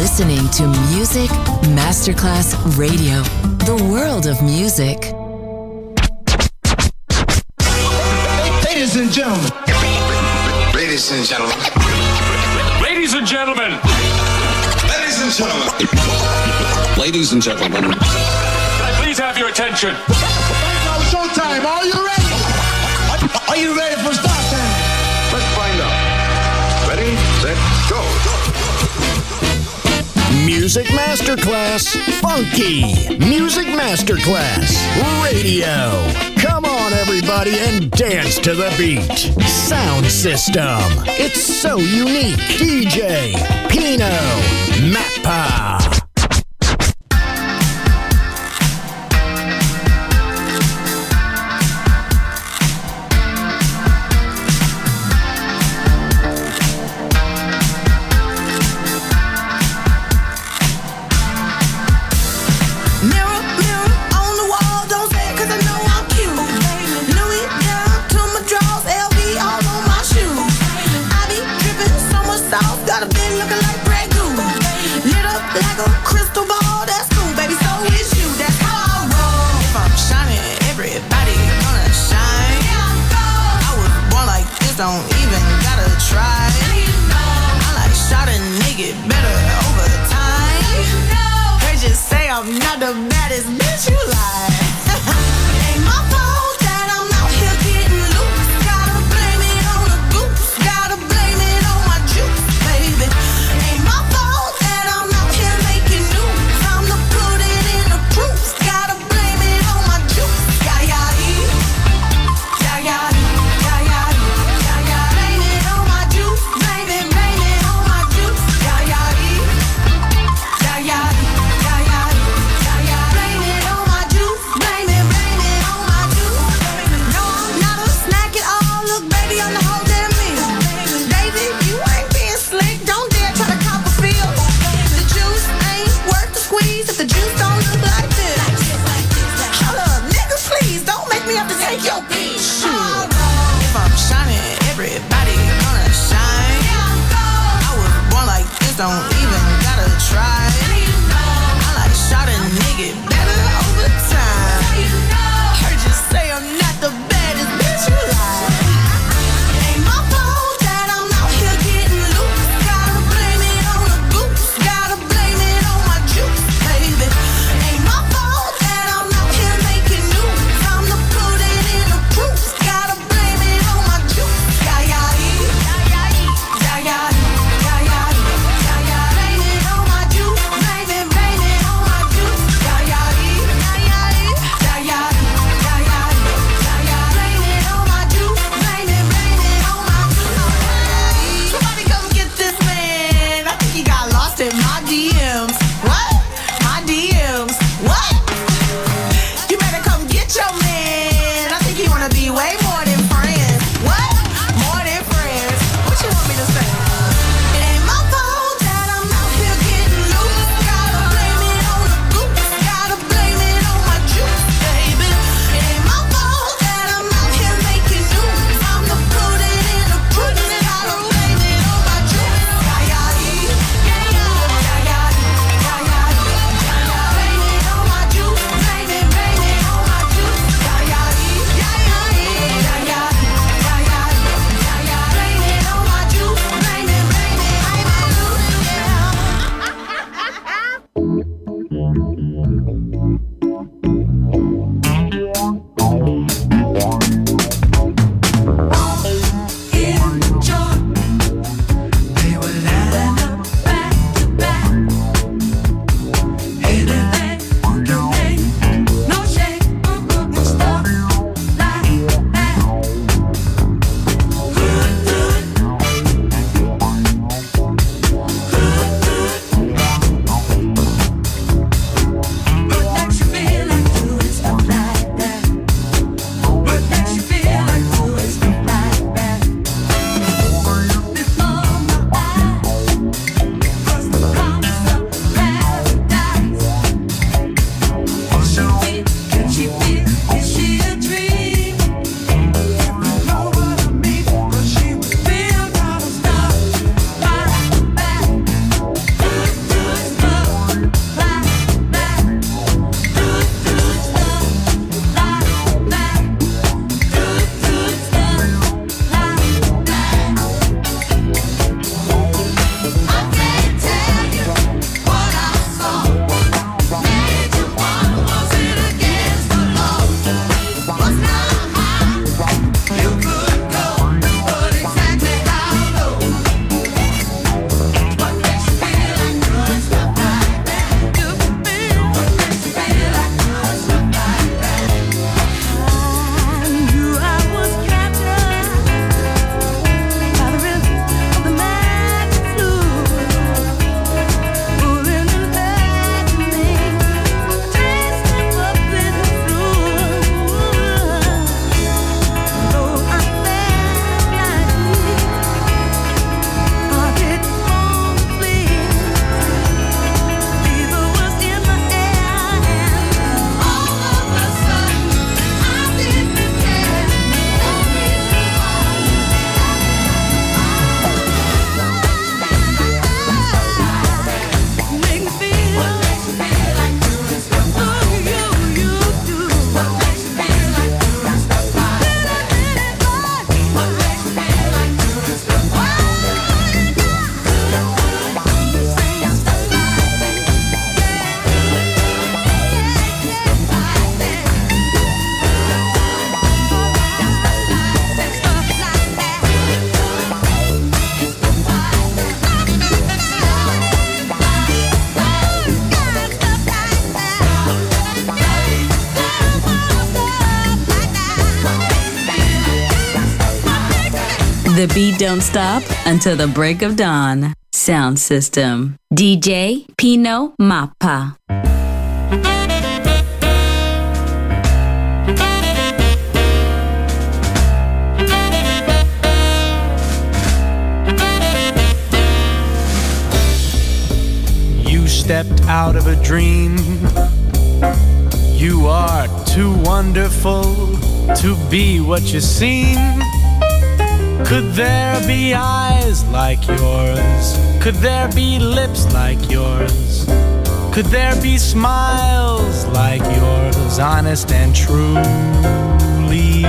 listening to Music Masterclass Radio, the world of music. Ladies and gentlemen. Ladies and gentlemen. Ladies and gentlemen. Ladies and gentlemen. Ladies and gentlemen. Can I please have your attention? Now showtime. Are you ready? Are you ready for start time? Let's find out. Ready, set, go. Music Masterclass Funky. Music Masterclass Radio. Come on, everybody, and dance to the beat. Sound system. It's so unique. DJ Pino Mappa. Don't even gotta try. I like shot a nigga better over time. They just say I'm not the baddest bitch you like. Ain't my fault that I'm out here getting loose. Gotta blame it on the goose. Gotta blame it on my juice, baby. Ain't my fault that I'm out here making news. Time to put it in the proof. Gotta blame it on my juice. Yeah, yeah, yeah, yeah, yeah. Don't even gotta try. I like shot a nigga better over time. Heard you say I'm not the baddest bitch you like. Ain't my fault that I'm out here getting loose. Gotta blame it on the goose. Gotta blame it on my juice, baby. Ain't my fault that I'm out here making news. Time to put it in the proof. Gotta blame it on my juice. Yeah, yeah, yeah, yeah, yeah, yeah. The beat don't stop until the break of dawn. Sound system. DJ Pino Mappa. You stepped out of a dream. You are too wonderful to be what you seem. Could there be eyes like yours? Could there be lips like yours? Could there be smiles like yours, honest and truly?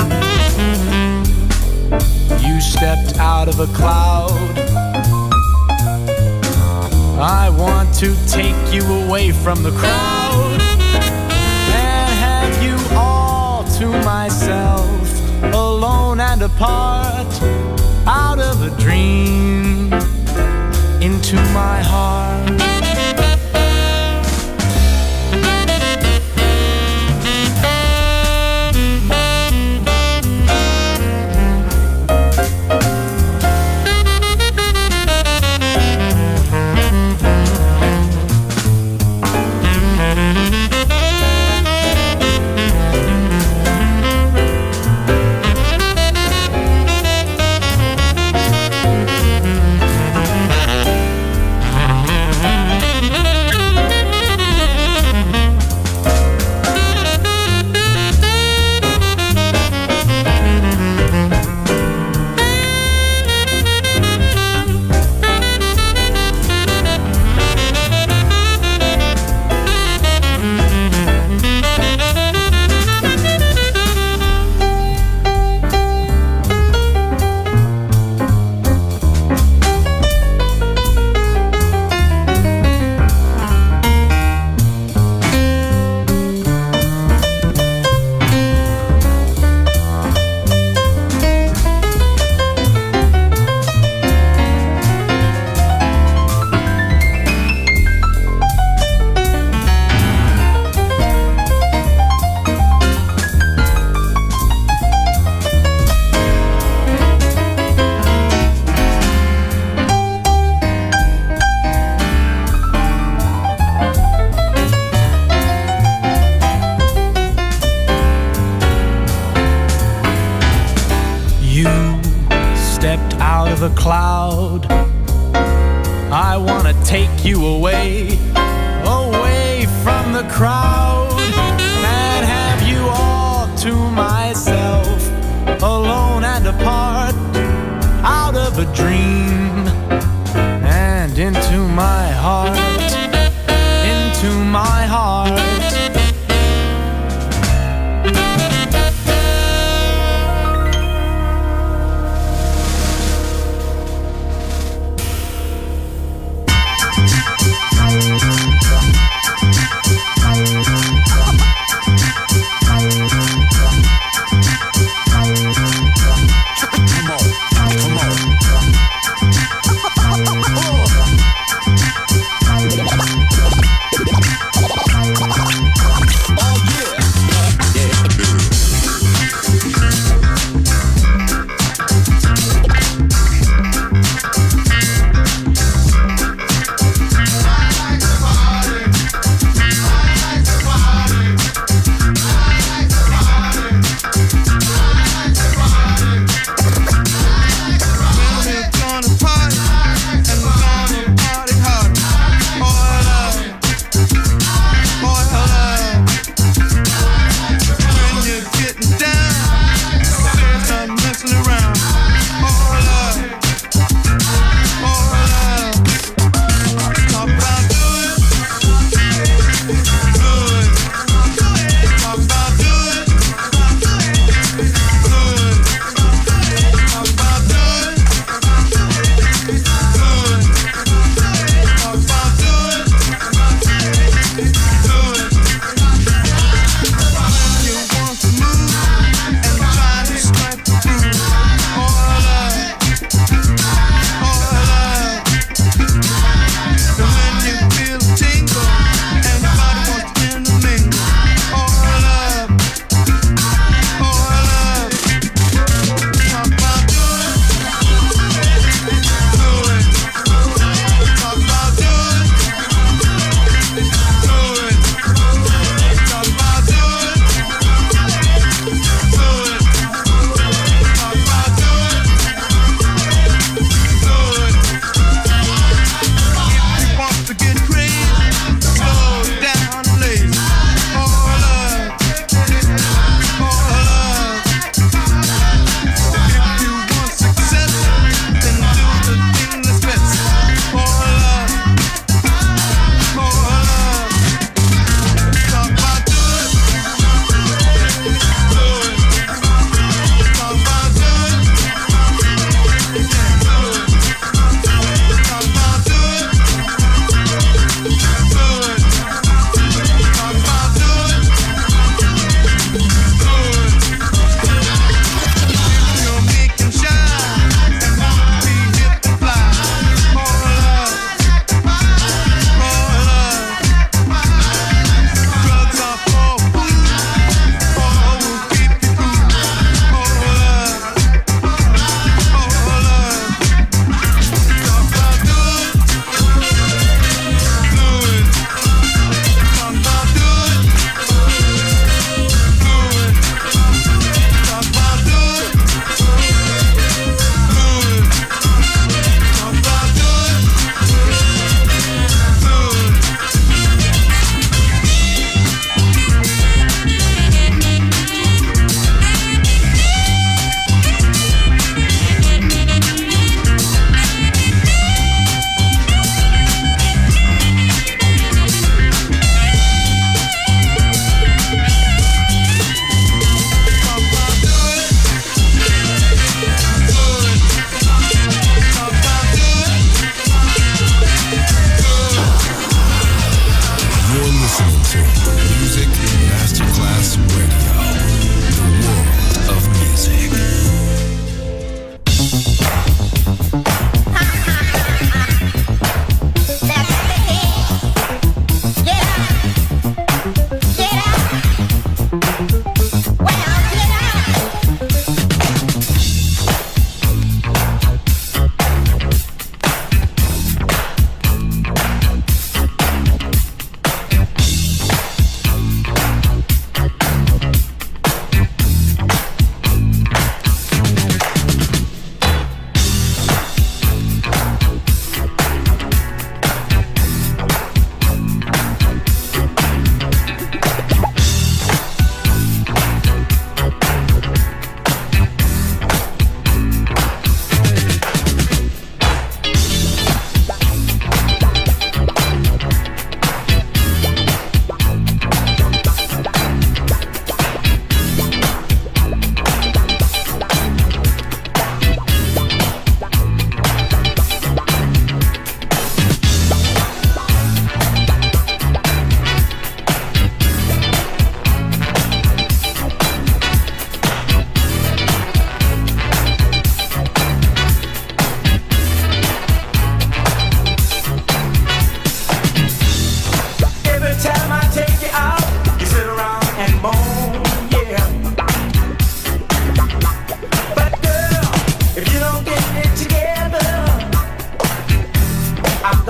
You stepped out of a cloud. I want to take you away from the crowd and have you all to myself, alone and apart, out of a dream, into my heart. Cloud. I wanna take you away, away from the crowd, and have you all to myself, alone and apart, out of a dream, and into my heart, into my heart. Gonna party and we're gonna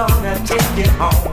gonna take you home.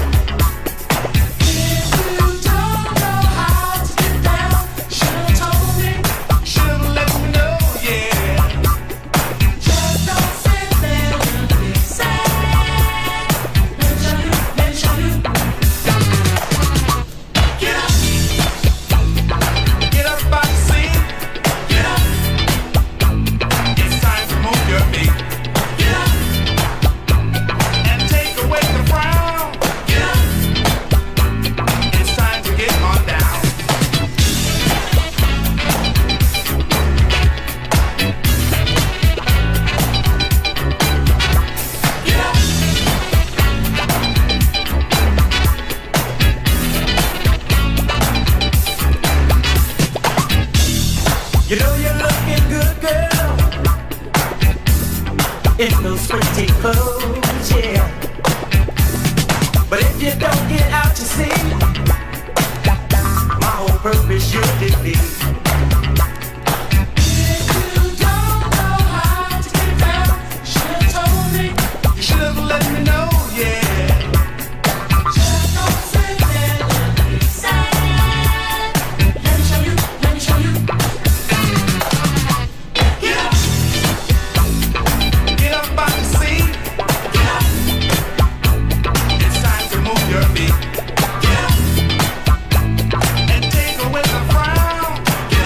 In those pretty clothes, yeah. But if you don't get out to sea, my whole purpose you'll defeat. Your feet. And take away the frown.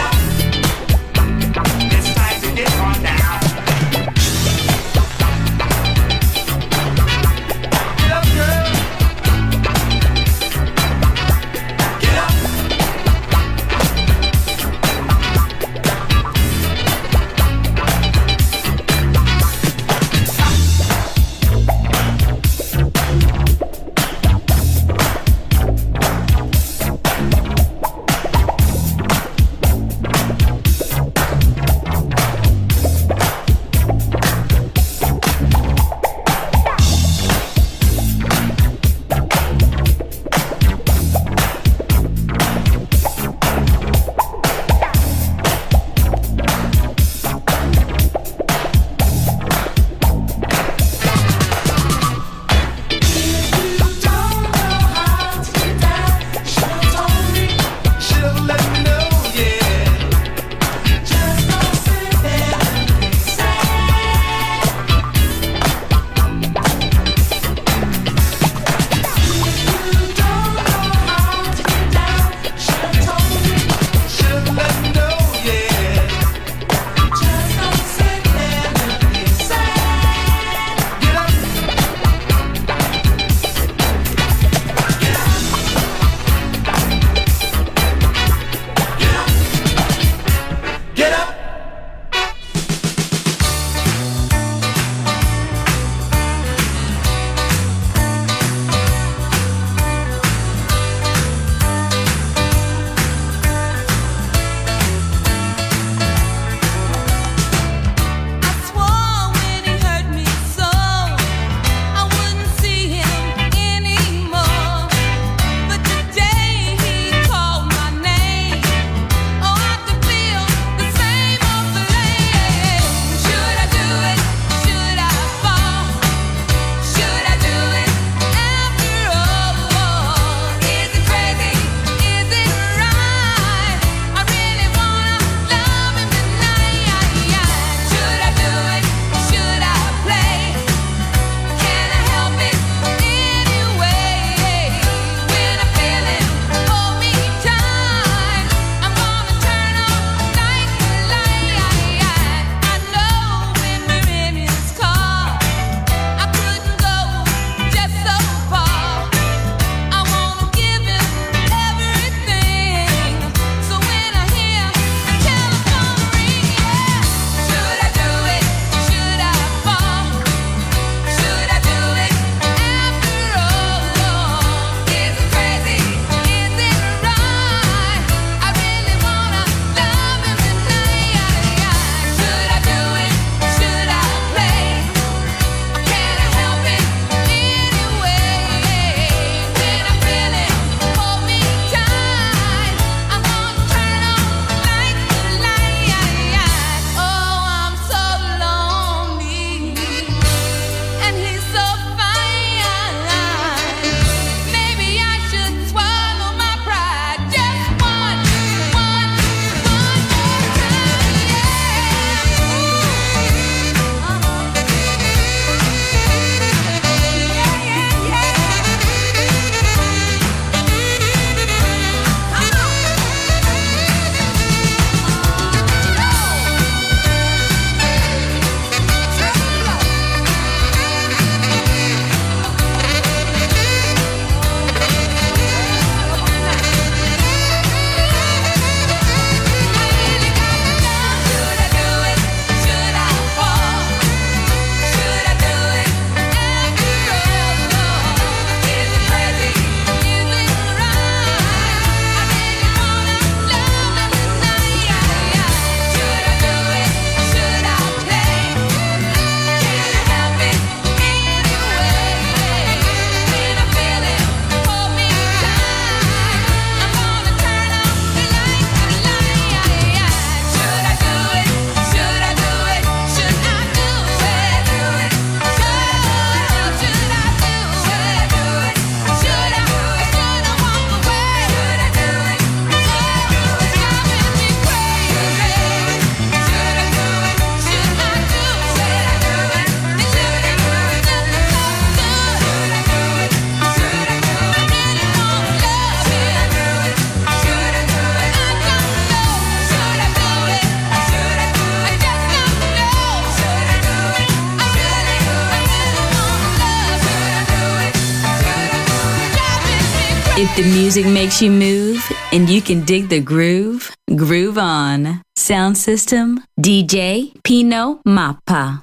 If the music makes you move and you can dig the groove, groove on. Sound system, DJ Pino Mappa.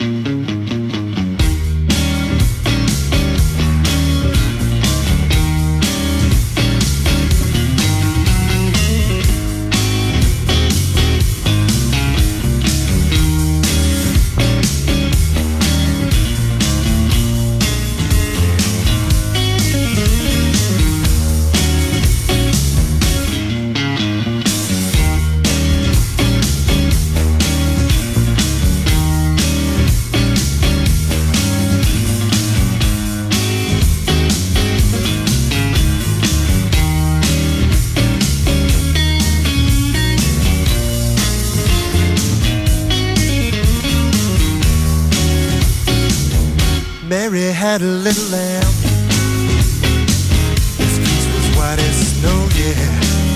Mary had a little lamb. His fleece was white as snow, yeah.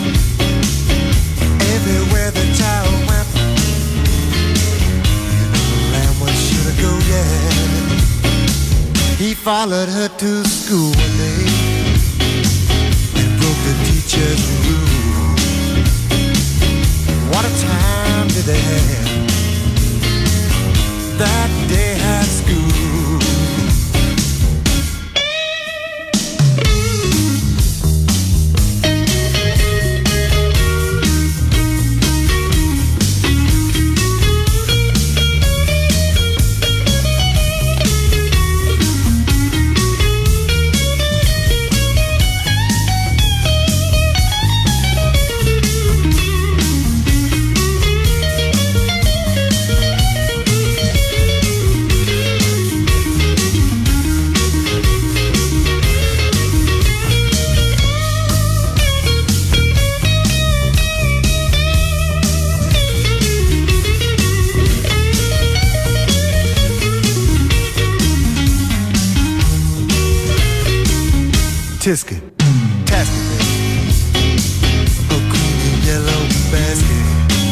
Everywhere the child went, you know the lamb was sure to go, yeah. He followed her to school one day and broke the teacher's rule. What a time did they have that day at school. Tisket, tasket, a green and yellow basket.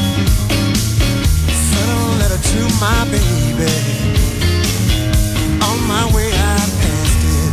Sent a letter to my baby. On my way I passed it.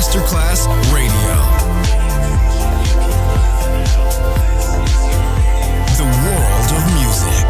Masterclass Radio. The world of music.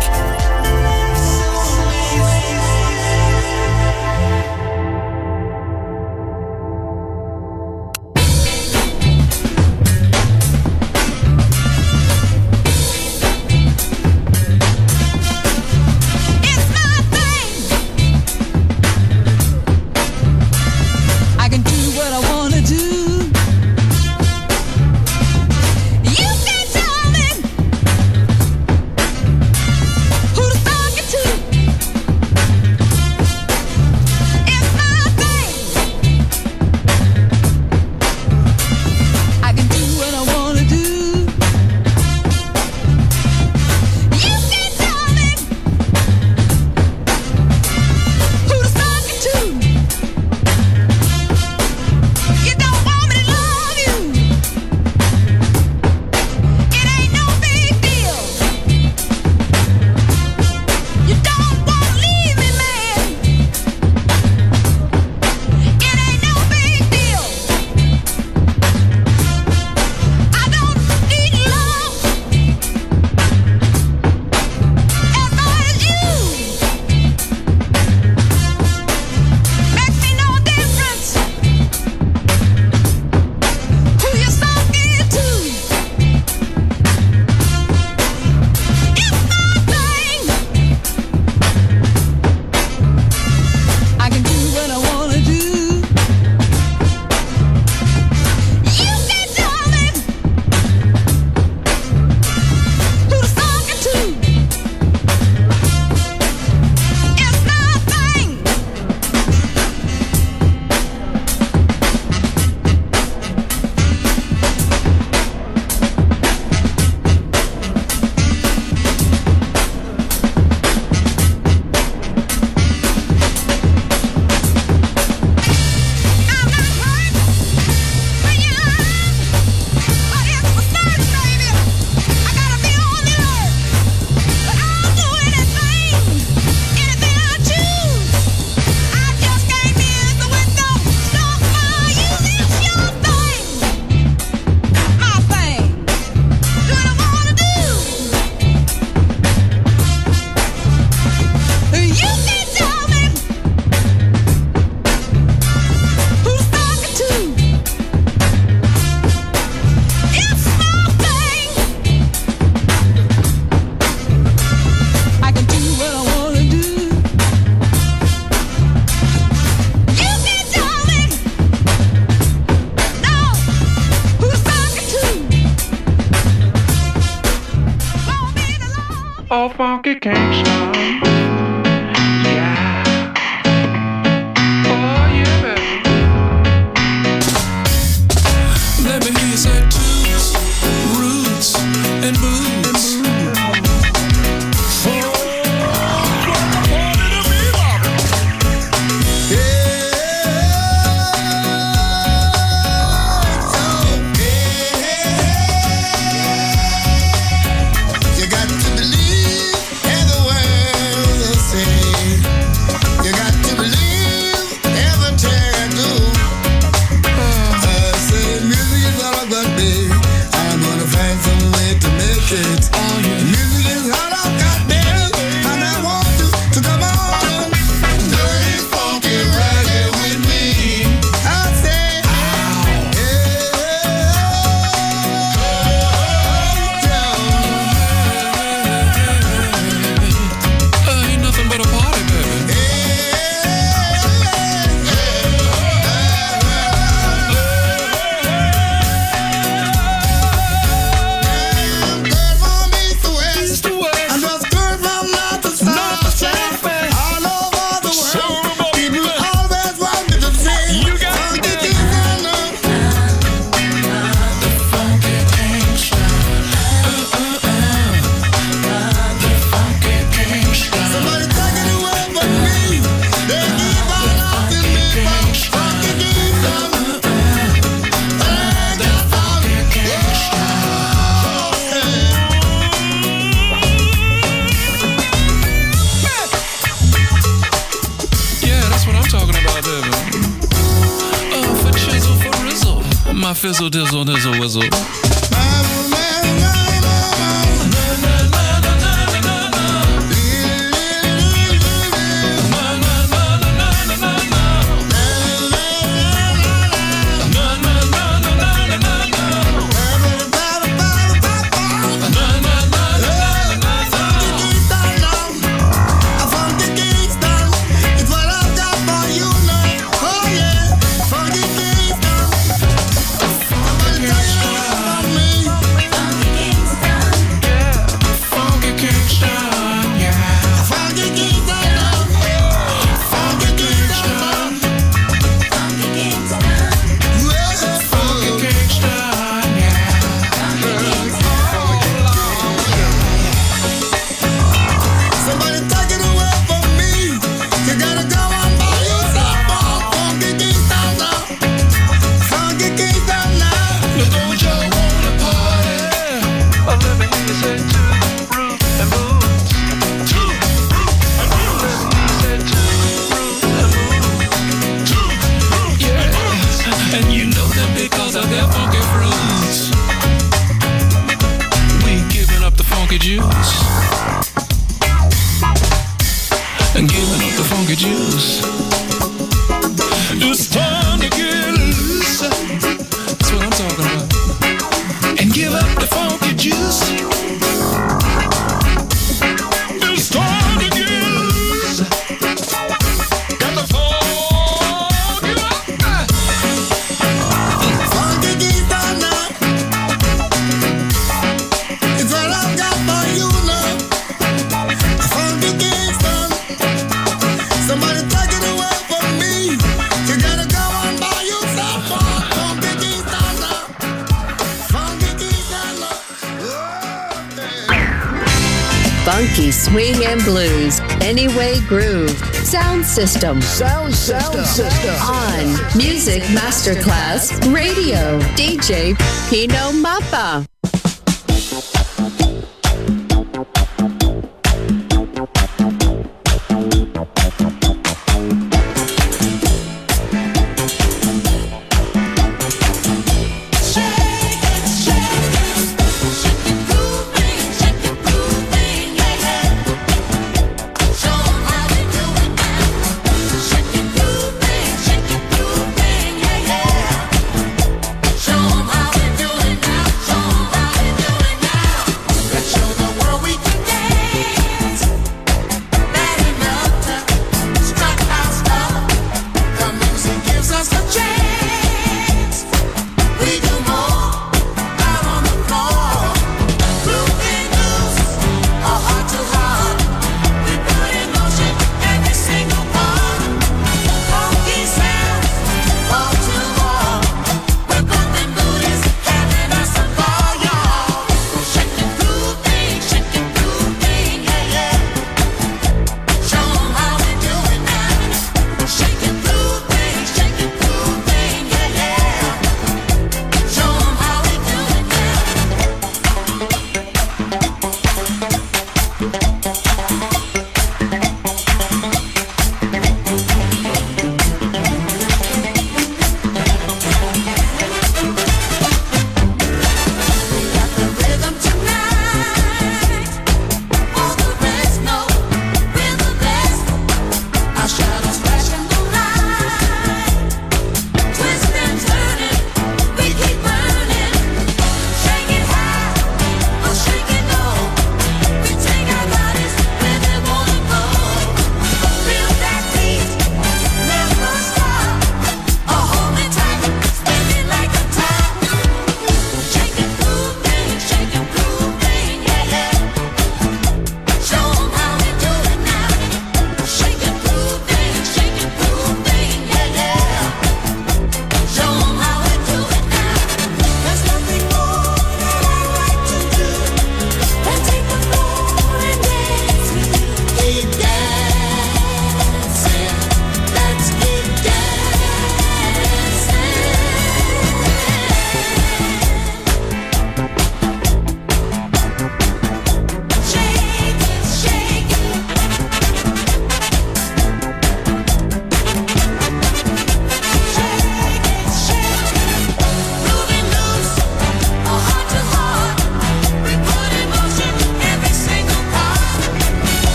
All funky gangsta. Yeah. Oh yeah, baby. Let me hear you say toots, roots, and boots. Talking about, baby. For chisel, for my fizzle dizzle nizzle whizzle. Funky swing and blues, Anyway Groove, Sound System. Sound System. On Music Masterclass Radio, DJ Pino Mappa. Show 'em how we do it now. Show 'em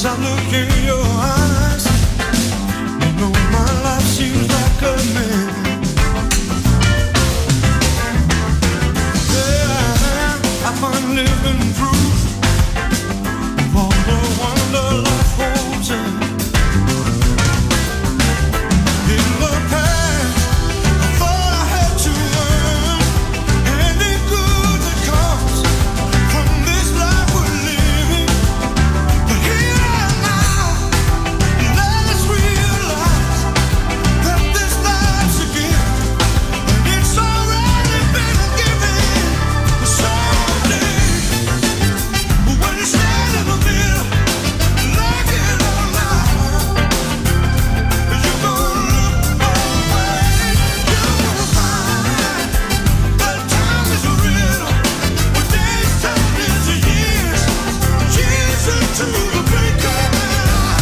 I look in your eyes, you know my life seems like a man. Yeah, I find living proof of all the wonder life holds in. In the past, I thought I had to learn any good that comes from this life we're living. But here I am now, let's realize that this life's a gift, and it's already been given. Someday, when you stand in the middle, like it or not, you're gonna look away. You'll find that time is a riddle, when days turn into years, years into the blink of an eye.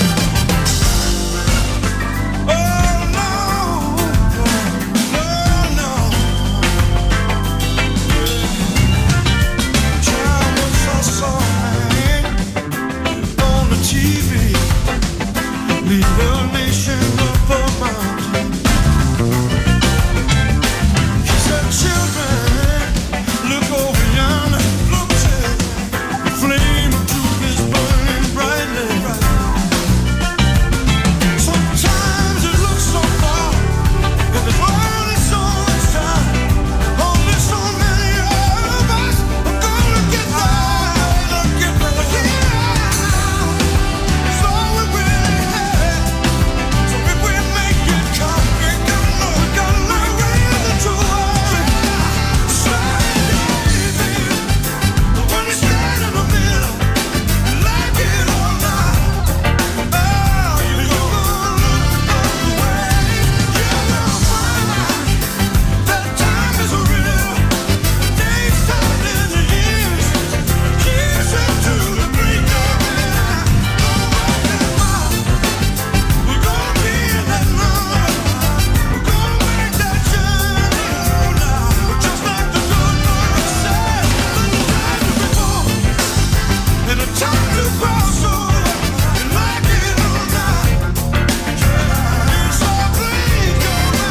Oh no, no, no. Child, once I saw a man on the TV lead a nation up a mountain. He said, children, look over yonder, look there, the flame of truth is burning brightly. Sometimes it looks so far, and there's only so much time. Only so many of us are gonna get there. But here now, it's all we really have. So if we make it come, we gotta look at the truth. Someday, baby, when you stand in the middle, like it or not, oh, you're gonna look away. You'll find that time is a riddle. Days turn into years, years into the blink of an eye. We're gonna be in that moment. We're gonna make that journey now. Just like the good Lord said, the time to be born and the time to cross over, and like it or not, it's all blink of an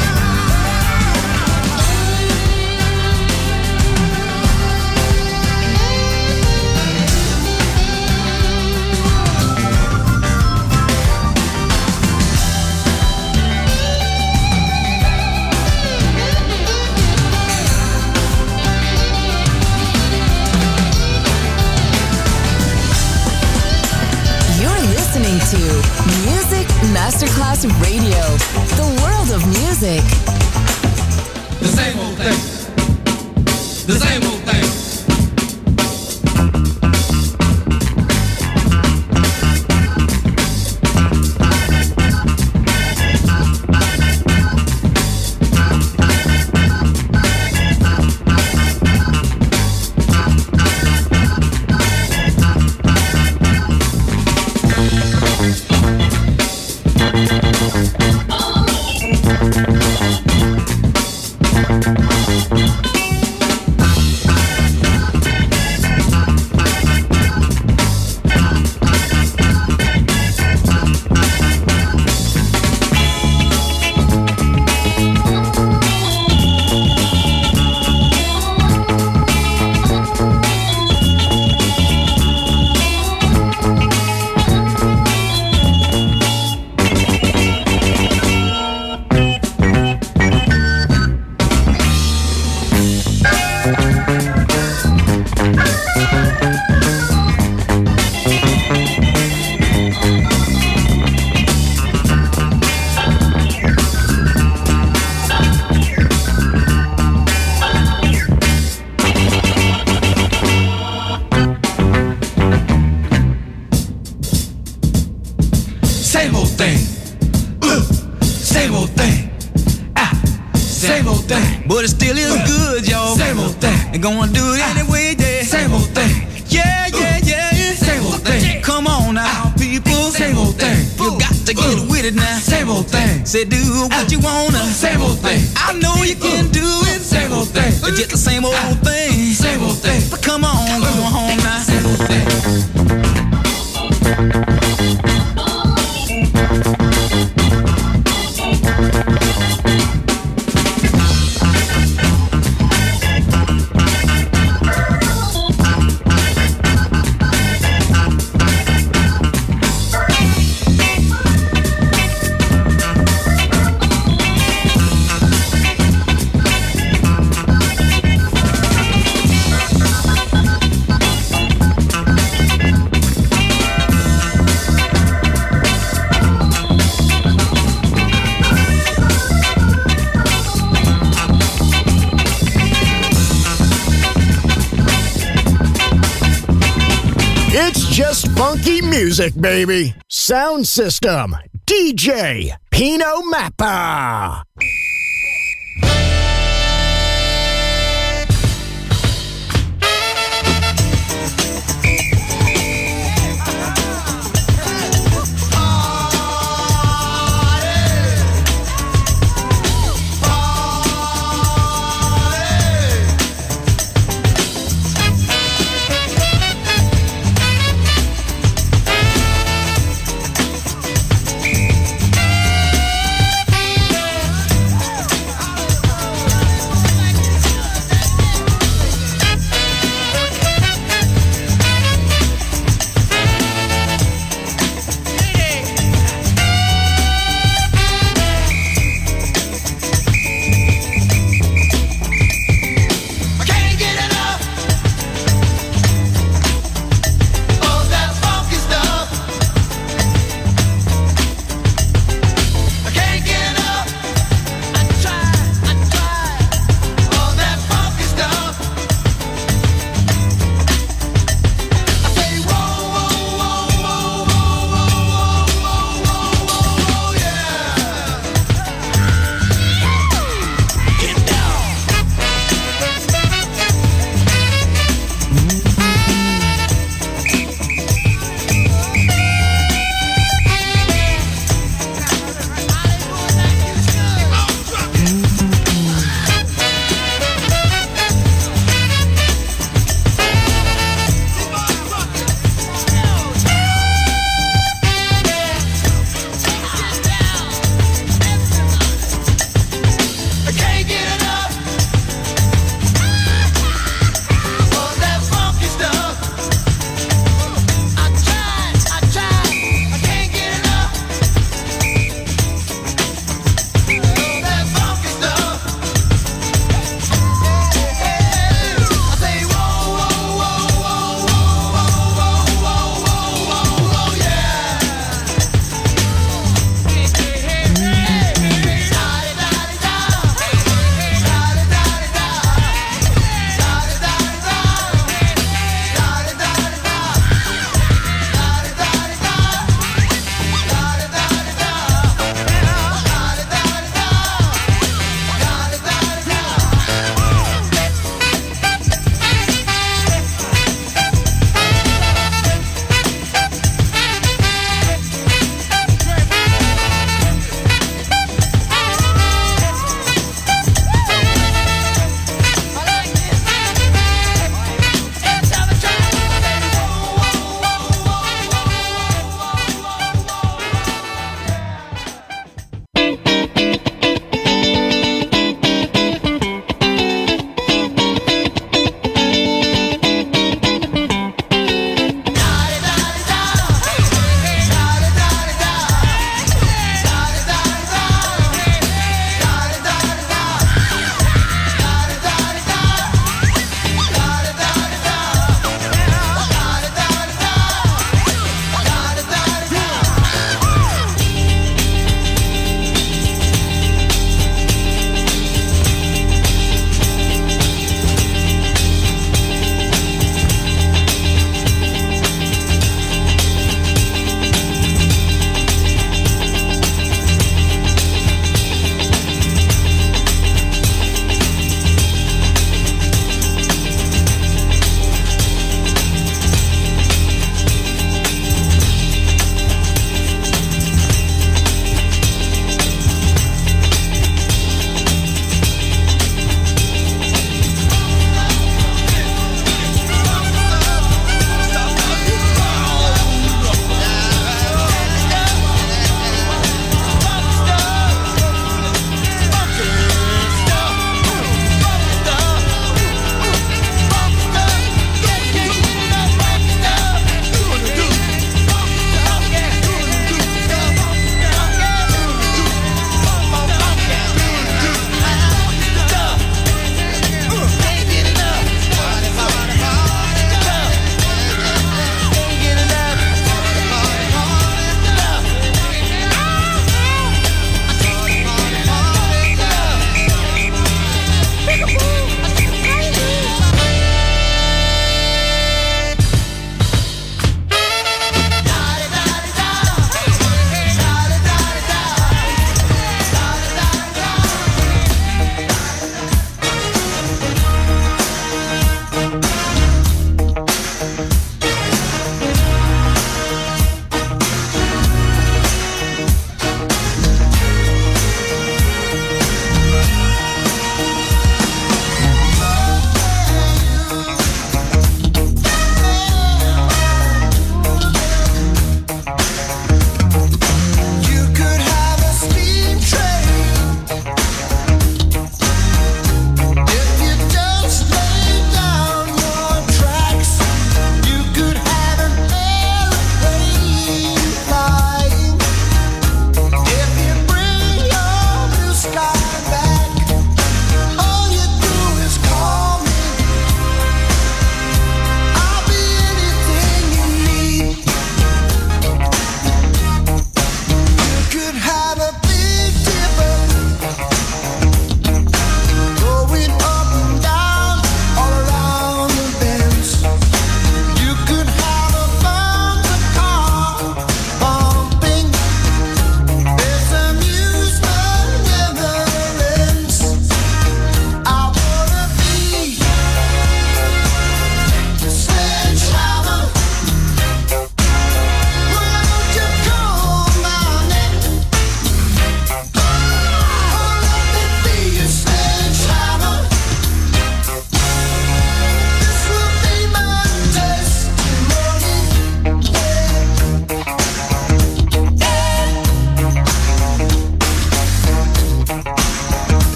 You're listening to Music Masterclass Radio, the world of music. The same old thing. The same old thing. Same old thing. Same old thing. Same old thing. But it still is good, y'all. Same old thing. And gonna do it anyway, yeah. Same old thing. Yeah, yeah, yeah. Same old thing. Come on now, people. Same old thing. You got to get with it now. Same old thing. Say do what you wanna. Same old thing. I know you can do it. Same old thing. It's just the same old thing. Same old thing. But come on, go home now. Same old thing. funky music, baby. Sound system, DJ Pino Mappa.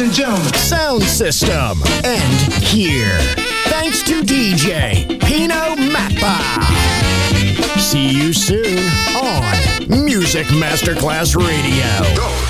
and gentlemen. Sound system. And here. Thanks to DJ Pino Mappa. See you soon on Music Masterclass Radio.